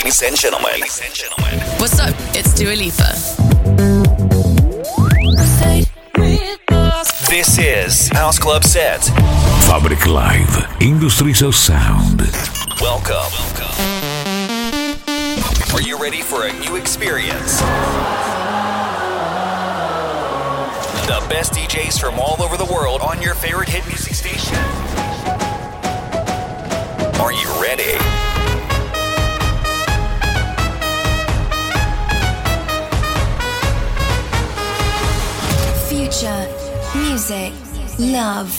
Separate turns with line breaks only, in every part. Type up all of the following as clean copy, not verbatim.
Ladies and gentlemen.
What's up? It's Dua Lipa.
This is House Club Set.
Fabric Live, Industries of Sound.
Welcome. Are you ready for a new experience? The best DJs from all over the world on your favorite hit music station. Are you ready?
Future, music, love.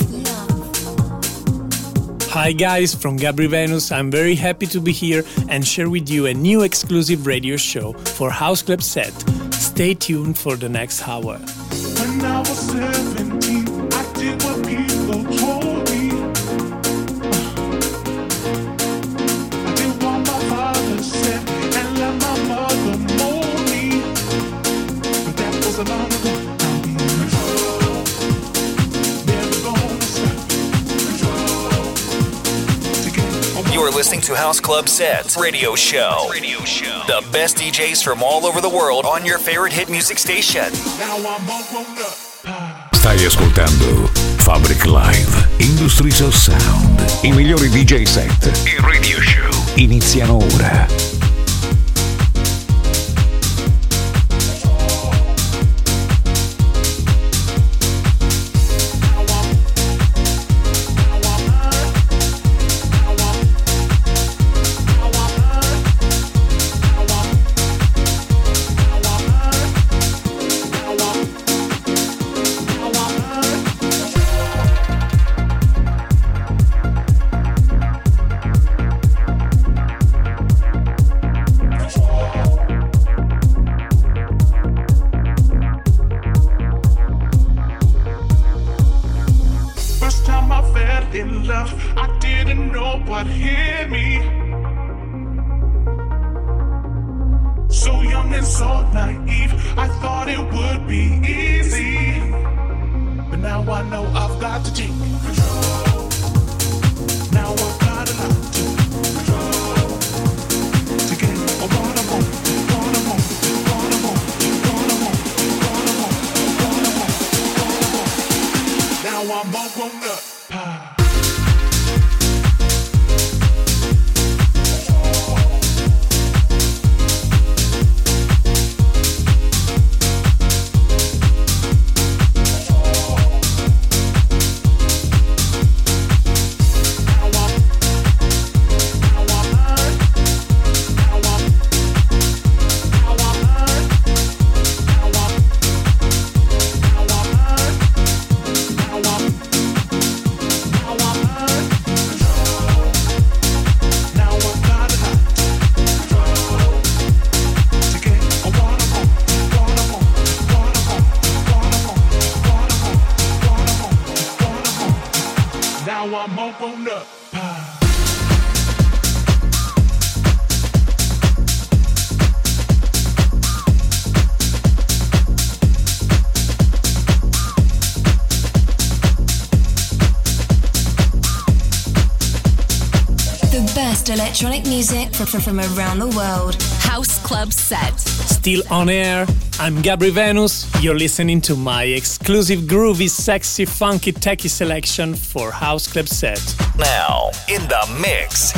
Hi guys, from Gabri Venus. I'm very happy to be here and share with you a new exclusive radio show for House Club Set. Stay tuned for the next hour.
When I was 17, I did what people told me. I did what my father said and let my mother mold me. But that was a long ago.
You are listening to House Club Set Radio Show. The best DJs from all over the world on your favorite hit music station.
Stai ascoltando Fabric Live, Industries of Sound. I migliori DJ set e radio show iniziano ora.
Electronic music from around the world.
House Club Set.
Still on air. I'm Gabri Venus. You're listening to my exclusive groovy, sexy, funky, techie selection for House Club Set.
Now, in the mix.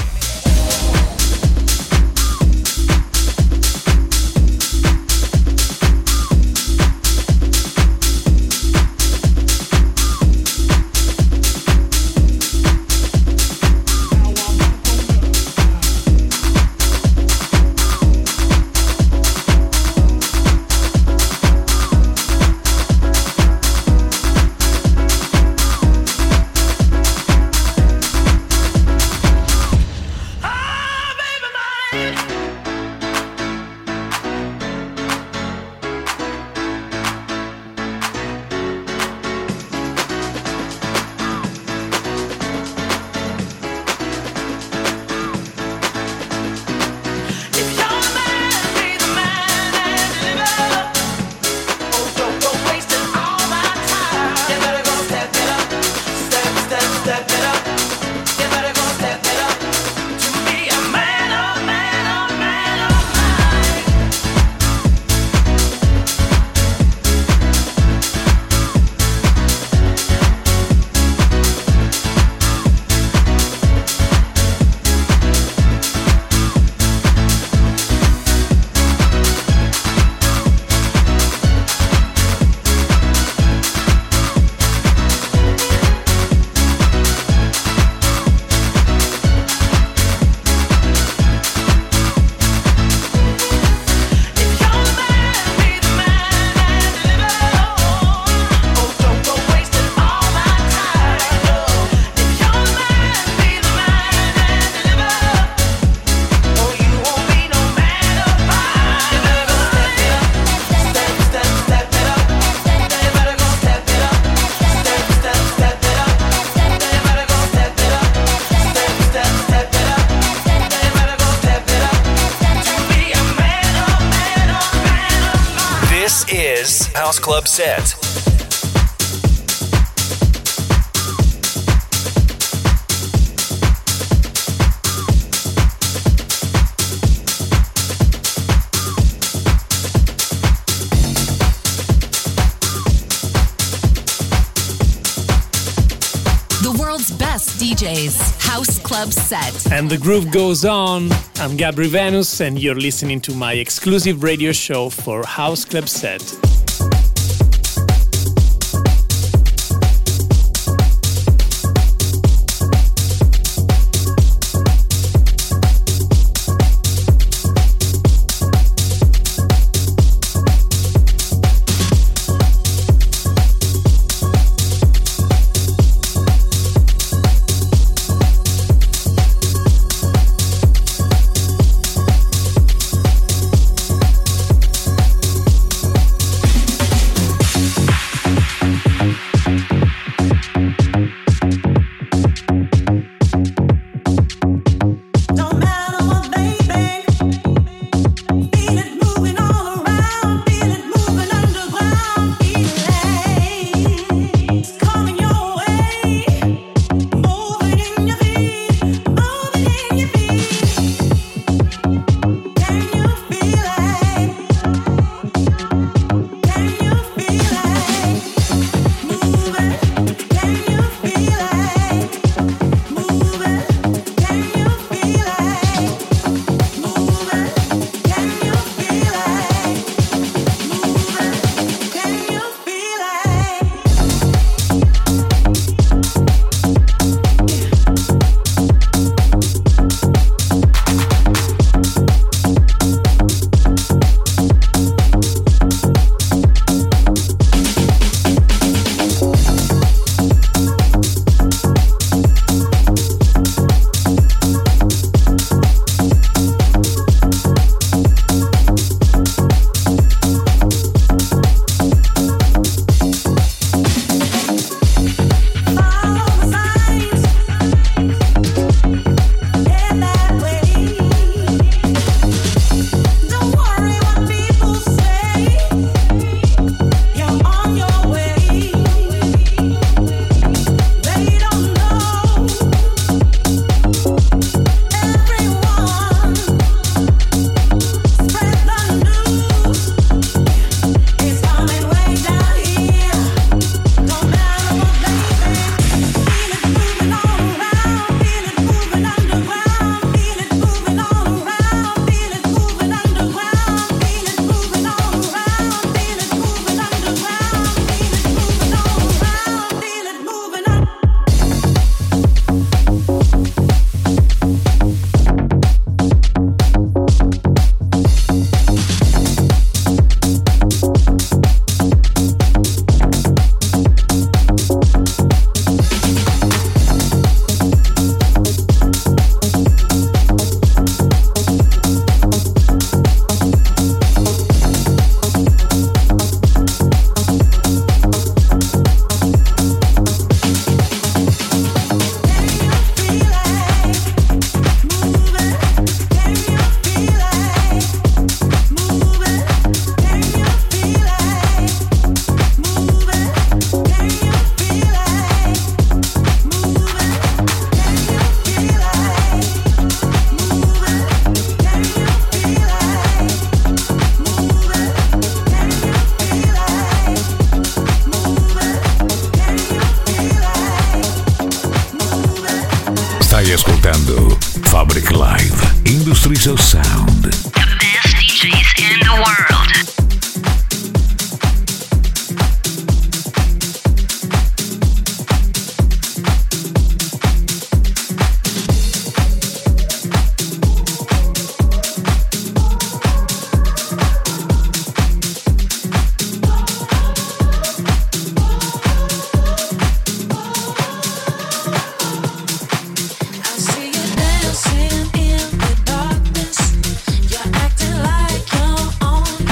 Step it up. You better go step it up. To be a man, oh man, oh
House Club set.
DJs House Club set.
And the groove goes on. I'm Gabri Venus, and you're listening to my exclusive radio show for House Club Set.
Stai ascoltando Fabric Live, Industries of Sound.
The best DJs in the world.
Dancing in the darkness, you're acting like you're on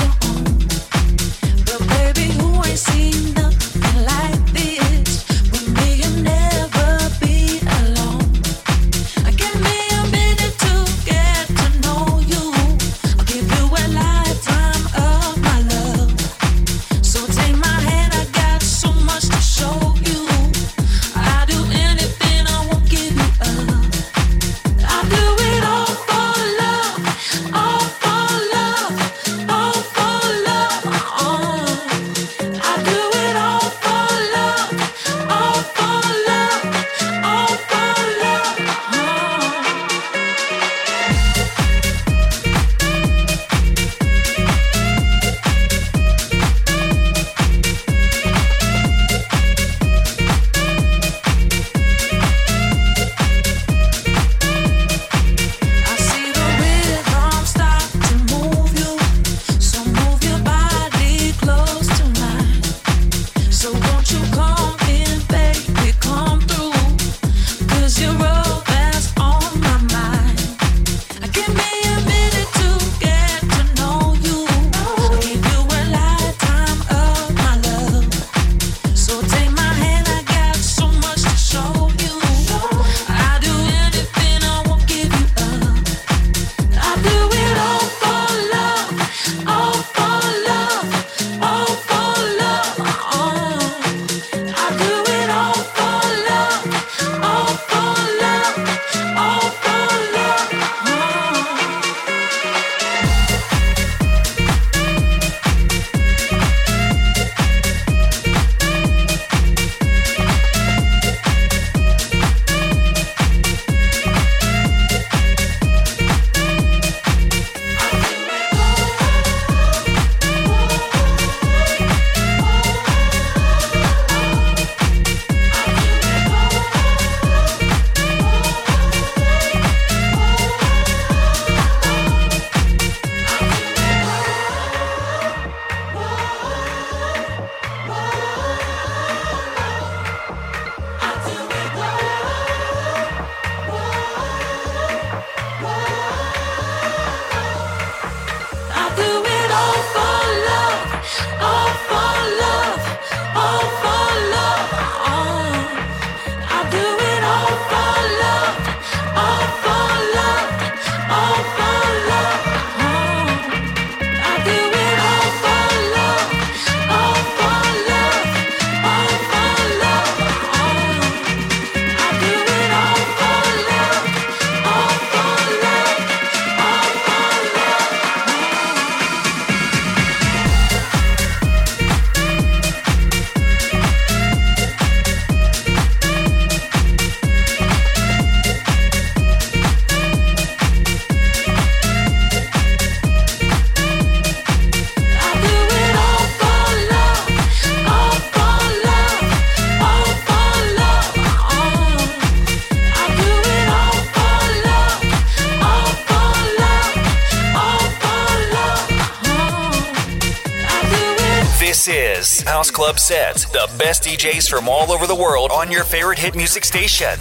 This is House Club Set, the best DJs from all over the world on your favorite hit music station.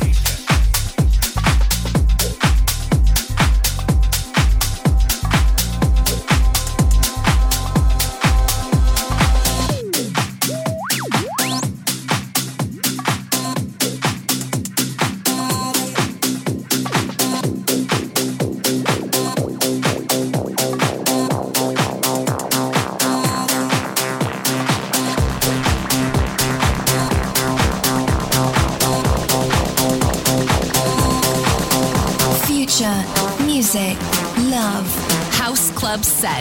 Music, love,
House Club Set.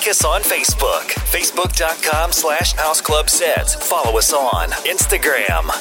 us on Facebook. Facebook.com/houseclubsets. Follow us on Instagram.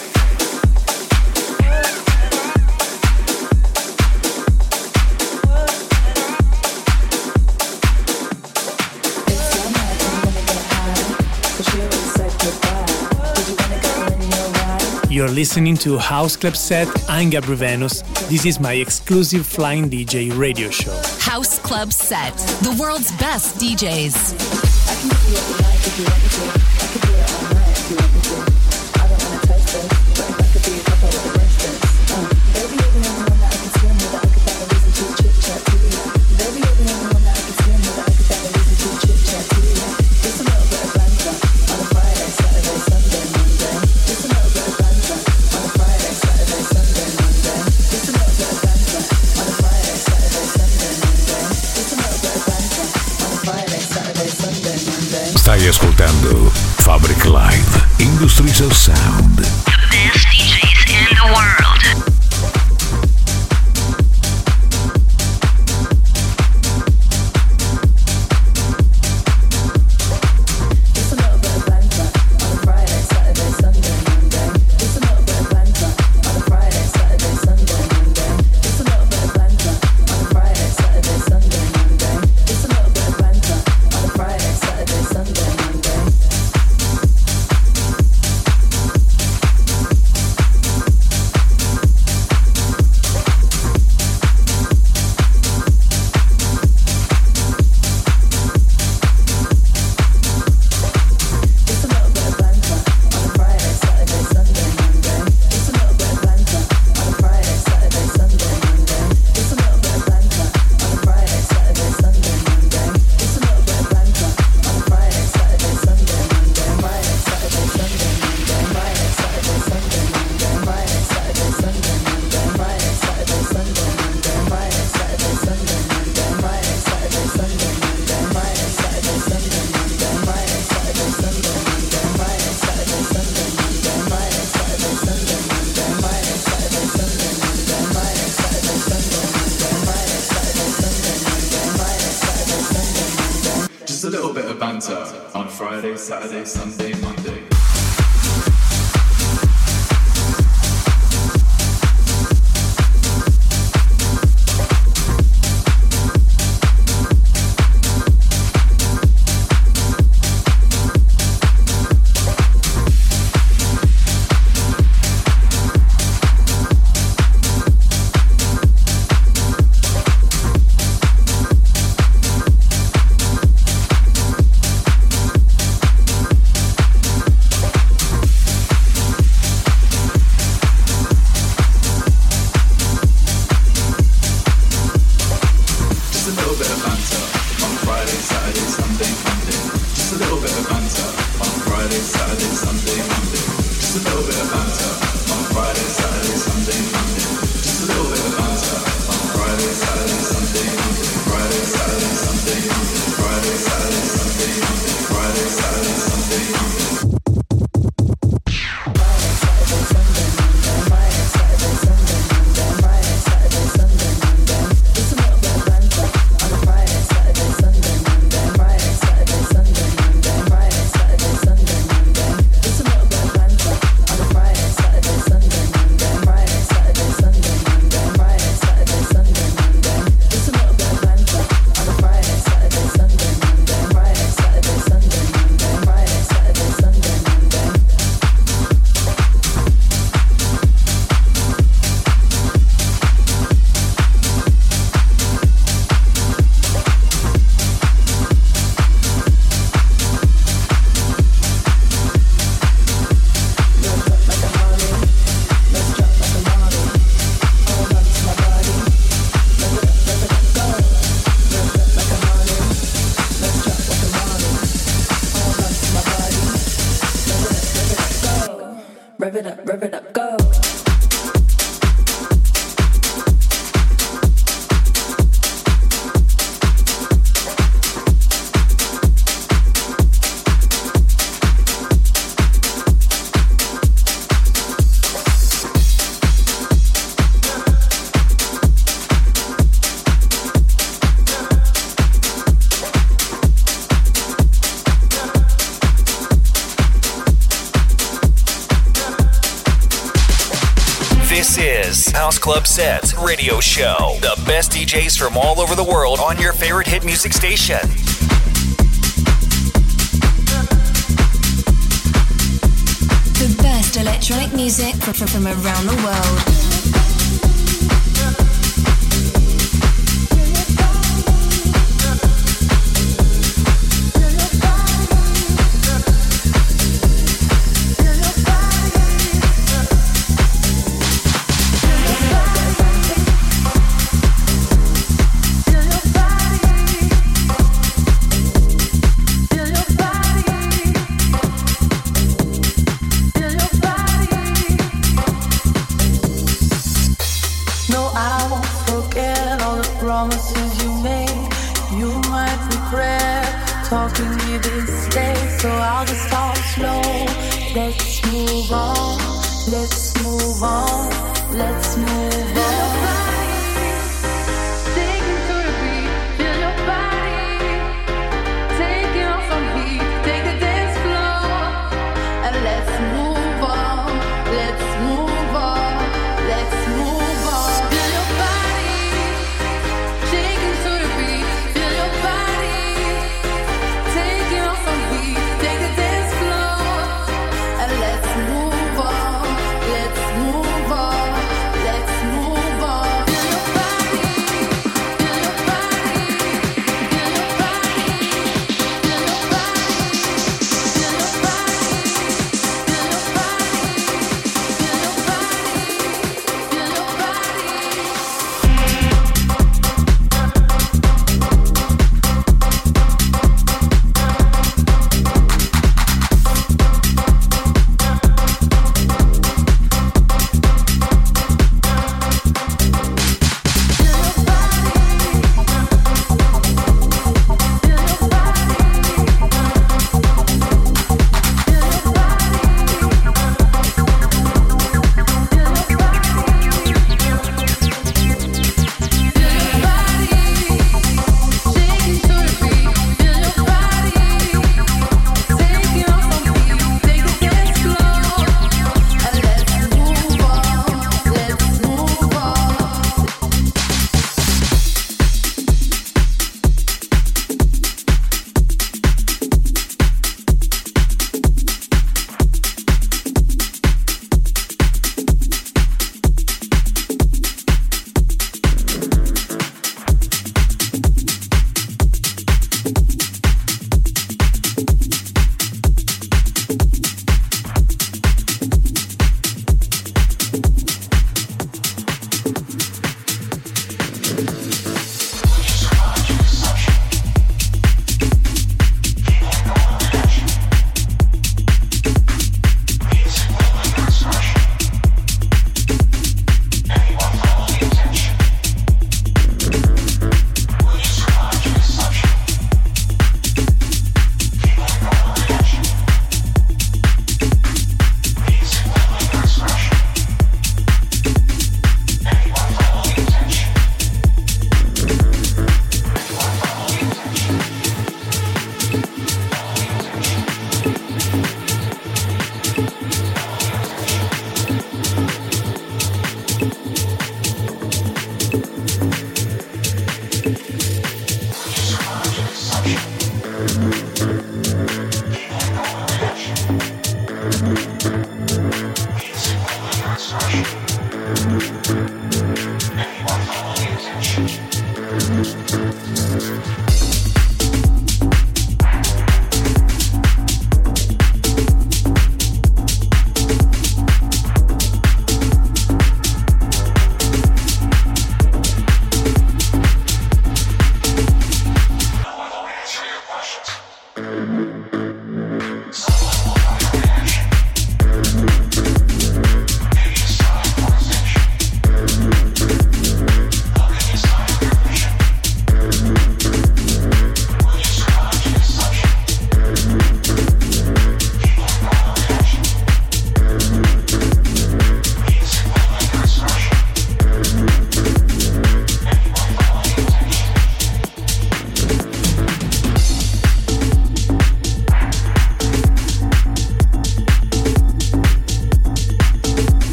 You're listening to House Club Set. I'm Gabry Venus. This is my exclusive Flying DJ radio show.
House Club Set, the world's best DJs.
I can give you what you like if you want me to. I could do it all night if you want me to. I don't want to taste this, but if I could be a couple with a instance. Baby, you're the only one that I can swim with, that I could find a reason to chit-chat to you. Baby, you're the only one that I can swim with, that I could find a reason to chit-chat to you. Just a little bit of banter on a Friday, Saturday, Sunday, Monday. Just a little bit of banter on a Friday, Saturday, Sunday, Monday. Just a little bit of banter on a Friday, Saturday, Sunday, Monday. Just a little bit of banter on a Friday, Saturday, Sunday, Monday.
Stai ascoltando Fabric Live, Industries of Sound.
The best DJs in the world.
On Friday, Saturday, Sunday, Monday.
rev it up, go.
Club Set Radio Show. The best DJs from all over the world on your favorite hit music station.
The best electronic music from around the world.
Promises you made, you might regret talking me this day. So I'll just talk slow. Let's move on. Let's move on. Let's move on.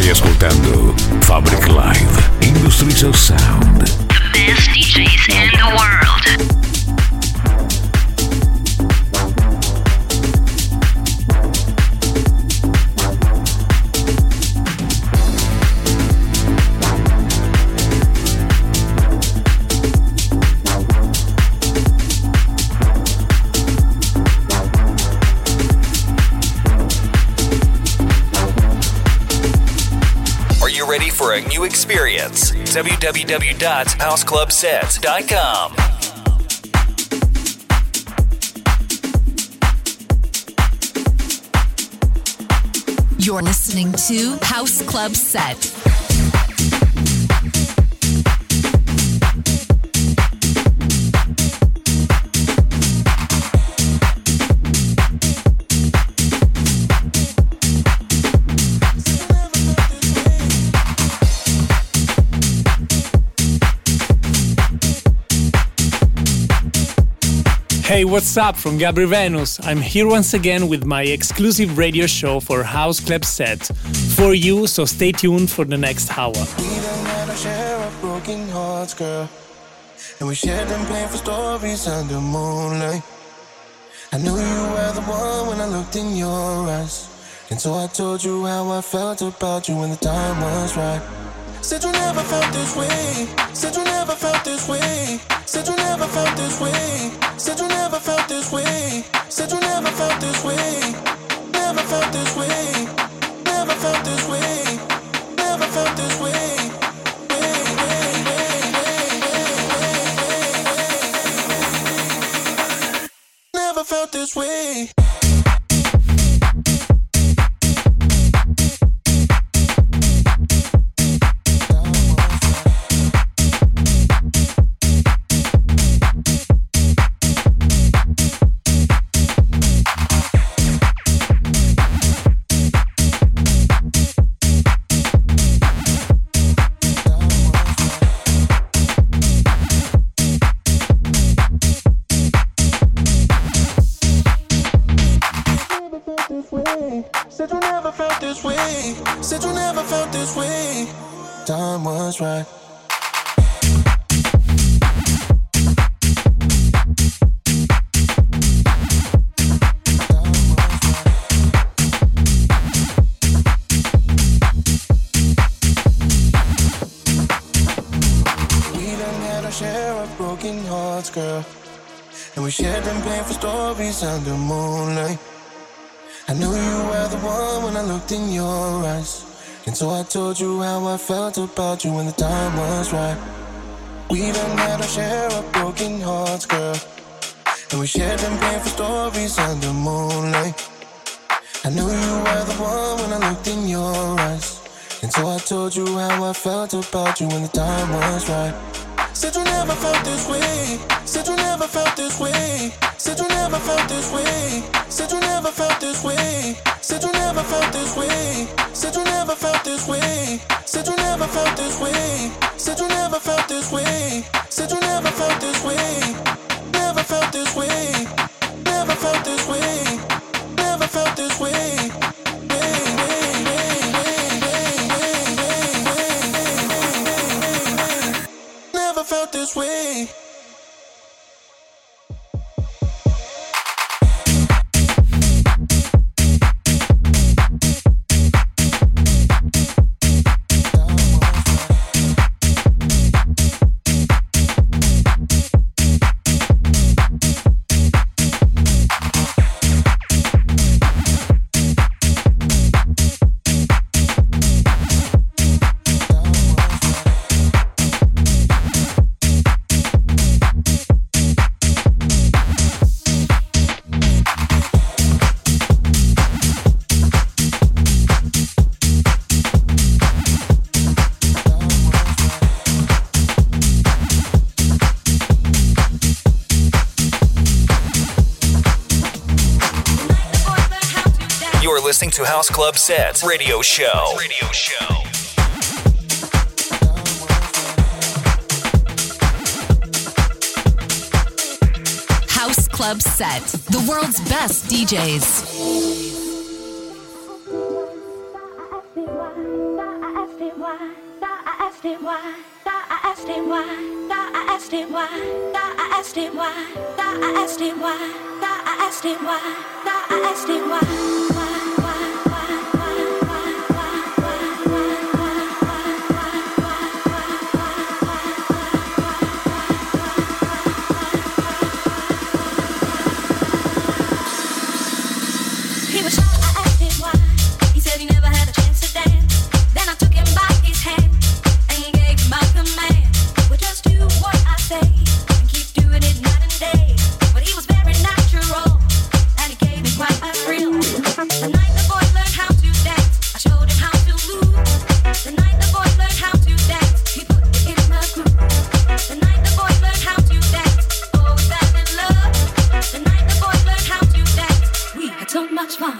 Stai ascoltando Fabric Live, Industries of Sound.
The best DJs in the world.
Ready for a new experience? www.houseclubset.com.
You're listening to House Club Set.
Hey, what's up? From Gabri Venus. I'm here once again with my exclusive radio show for House Club Set for you, so stay tuned for the next hour.
We done had our share of broken hearts, girl, and we shared them painful stories under moonlight. I knew you were the one when I looked in your eyes, and so I told you how I felt about you when the time was right. Said you never felt this way. Said you never felt this way. Said you never felt this way. Said you never felt this way. Said you never felt this way. Never felt this way. Never felt this way. Never felt this way. Never felt this way. Said you never felt this way. Said you never felt this way. Time was right. We done had our share of broken hearts, girl, and we shared them painful stories under moonlight. I knew you were the one when I looked in your eyes, and so I told you how I felt about you when the time was right. We done had our share of broken hearts, girl, and we shared them painful stories under moonlight. I knew you were the one when I looked in your eyes, and so I told you how I felt about you when the time was right. Said you never felt this way. Said you never felt this way. Said you never felt this way. Said you never felt this way. Said you never felt this way. Said you never felt this way. Said you never felt this way. Said you never felt this way. Said you never felt this way. Never felt this way. Never felt this way. Never felt this way. Never felt this way.
Listening to House Club Set Radio Show.
House Club Set, the world's best DJs.
I asked him why. I asked him why. I asked him why. I asked him why. I asked him why. I asked him why. He was shy, I asked him why. He said he never had a chance to dance. Then I took him by his hand and he gave my command. Well, just do what I say and keep doing it night and day. But he was very natural and he gave me quite a thrill. The night the boy learned how to dance, I showed him how to move. The night the boy learned how to dance, he put it in the groove. The night the boy learned how to dance, oh, we fell in love. The night the boy learned how to dance, we had so much fun.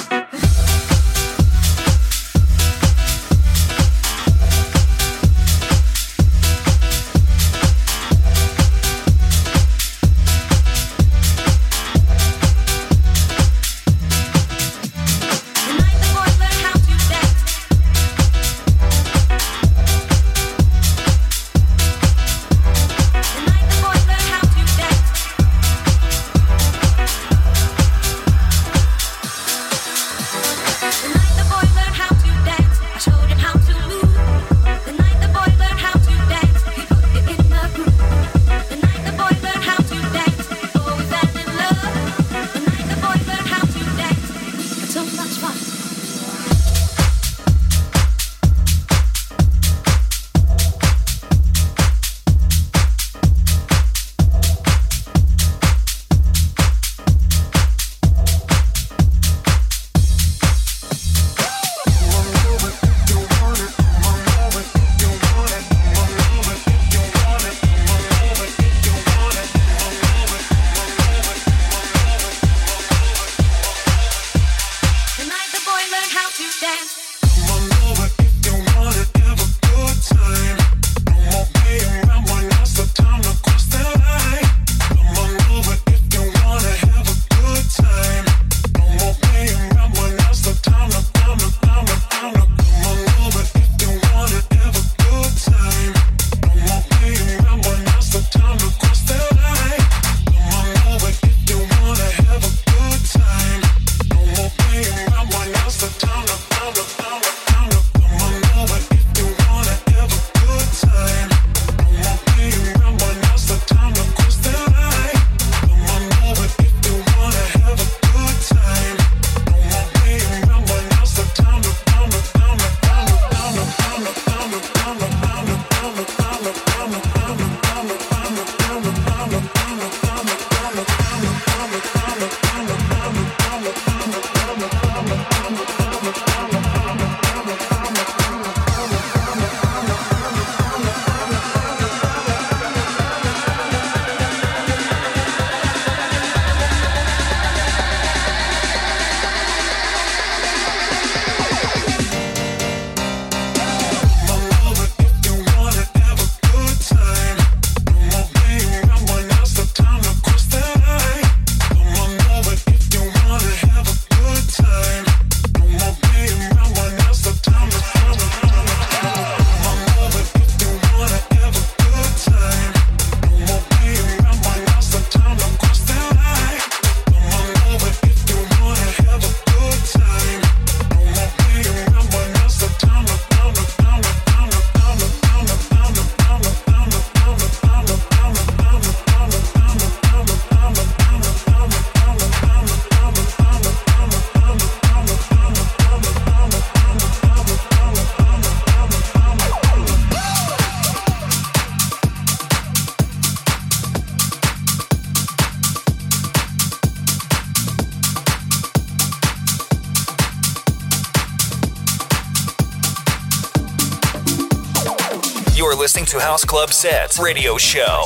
You're listening to House Club Set Radio Show.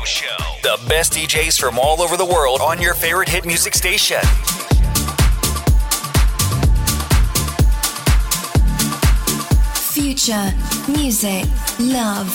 The best DJs from all over the world on your favorite hit music station.
Future, music, love.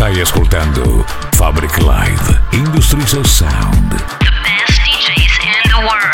Stai ascoltando Fabric Live, Industries of Sound.
The best DJs in the world.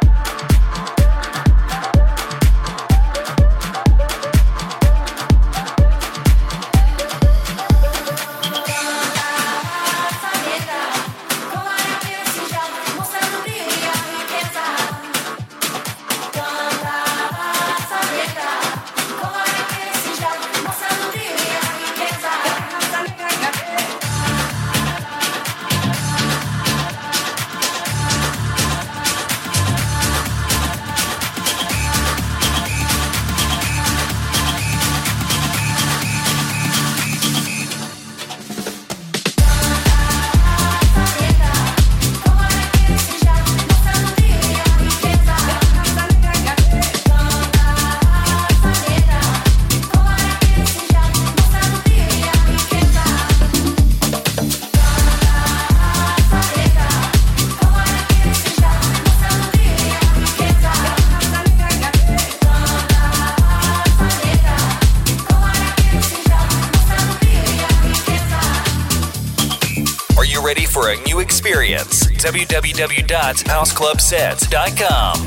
For a new experience, www.houseclubsets.com.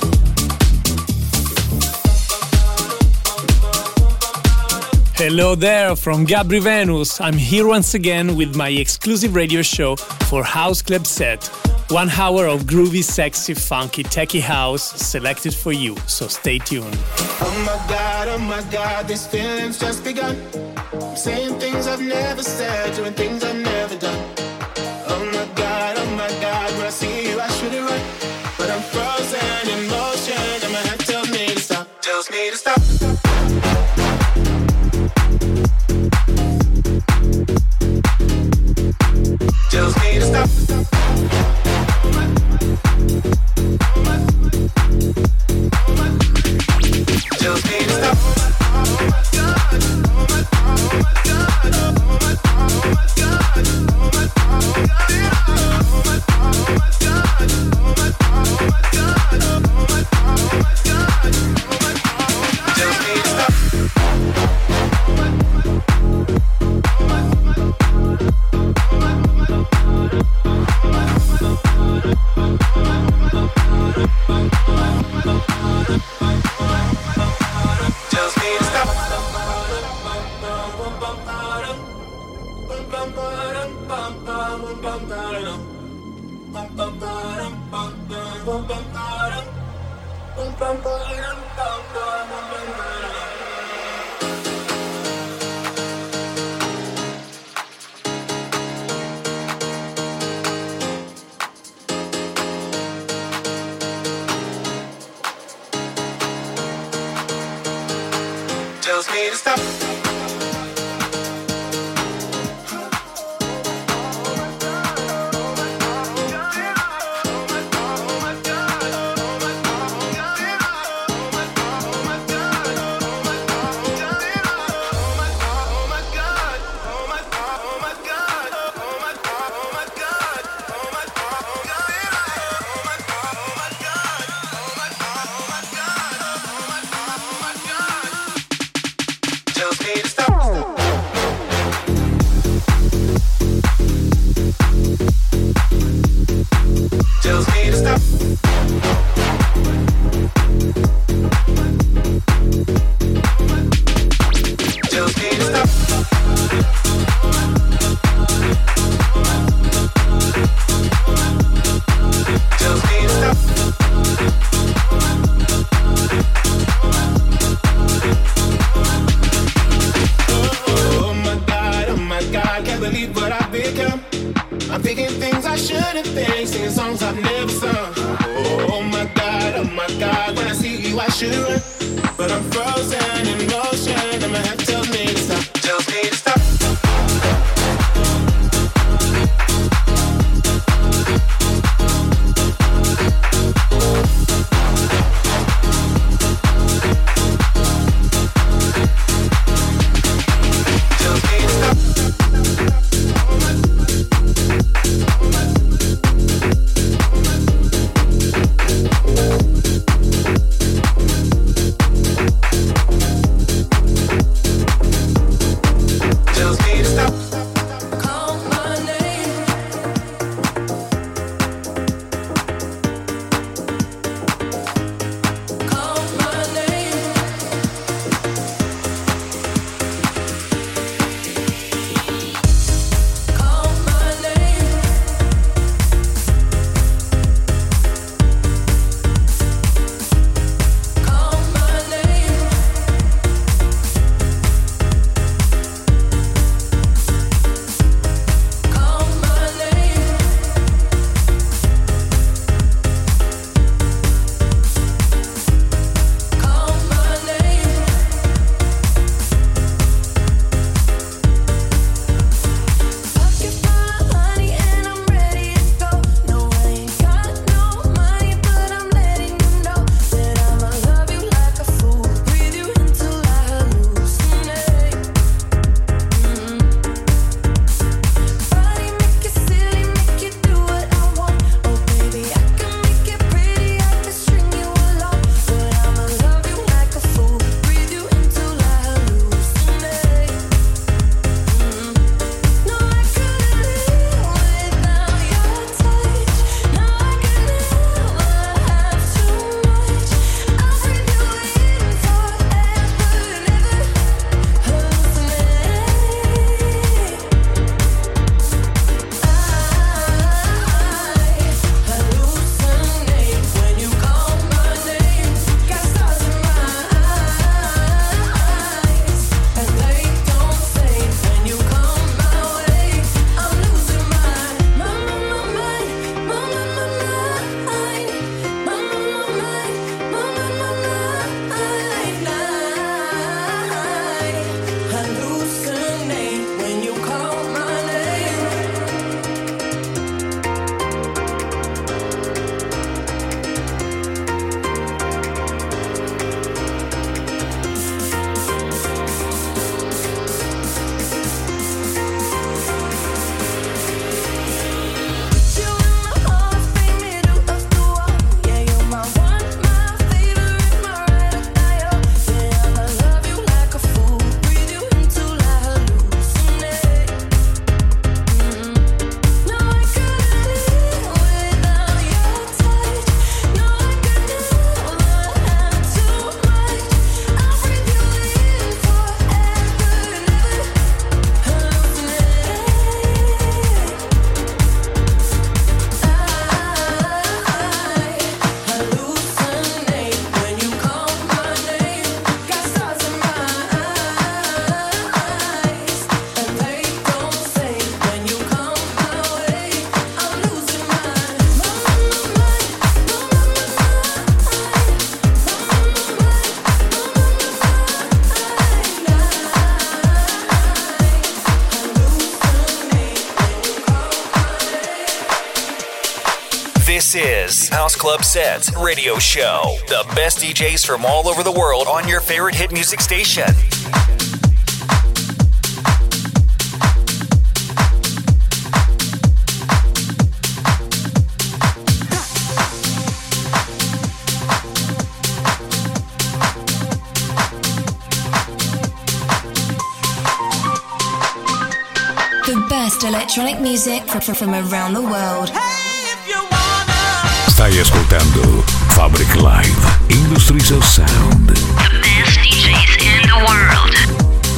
Hello there from Gabri Venus. I'm here once again with my exclusive radio show for House Club Set. 1 hour of groovy, sexy, funky, techie house selected for you, so stay tuned.
Oh my God, this feeling's just begun. I'm saying things I've never said, doing things I've never done. Oh my God, when I see you I should've run, but I'm frozen in motion and my head tells me to stop, tells me to stop. Tells me to stop. Tells me to stop. Tells me to stop.
This is House Club Set Radio Show. The best DJs from all over the world on your favorite hit music station.
The best electronic music from around the world.
Stai ascoltando Fabric Live, Industries of Sound.
The best DJs in the world.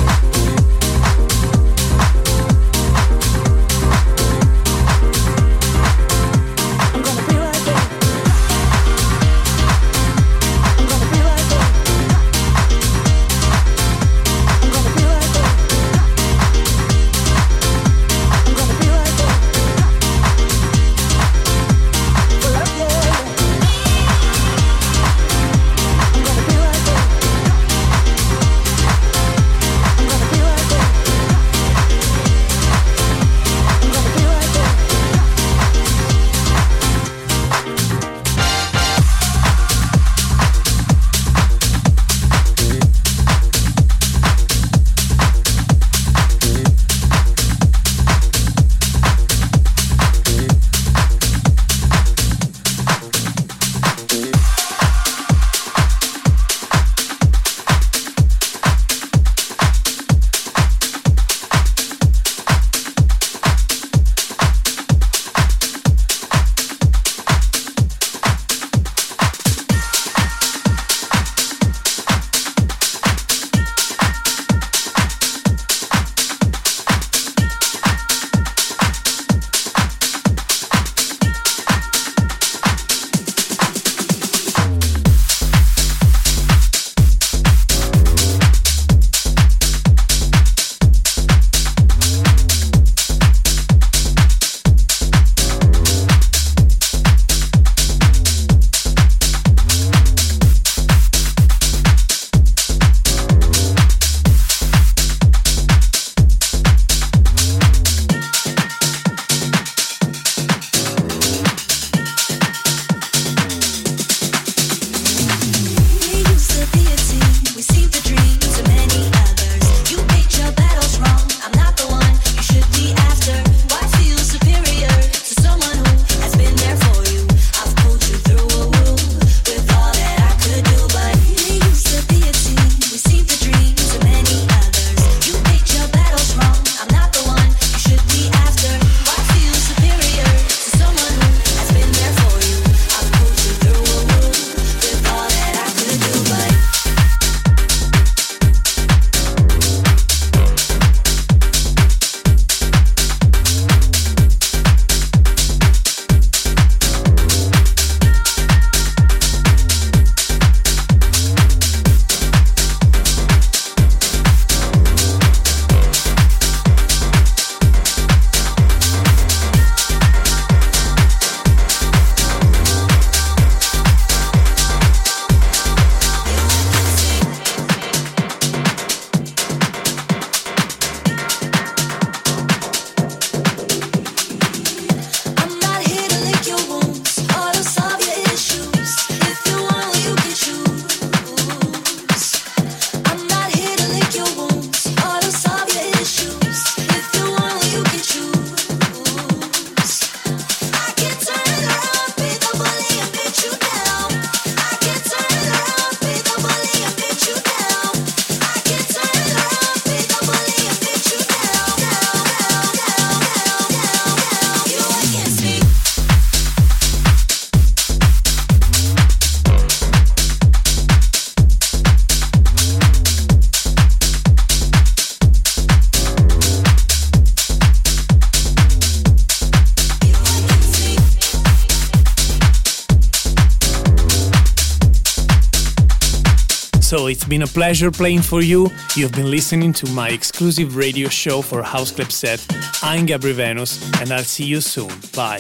So it's been a pleasure playing for you. You've been listening to my exclusive radio show for House Club Set. I'm Gabri Venus, and I'll see you soon. Bye.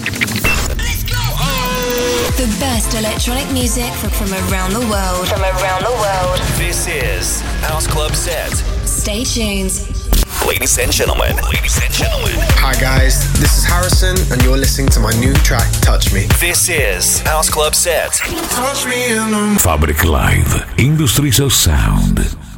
Let's go! The best electronic music from around the world.
This is House Club Set.
Stay tuned.
Ladies and gentlemen.
Hi guys, this is Harrison and you're listening to my new track, Touch Me.
This is House Club Set.
Touch me in the
Fabric Live, Industries of Sound.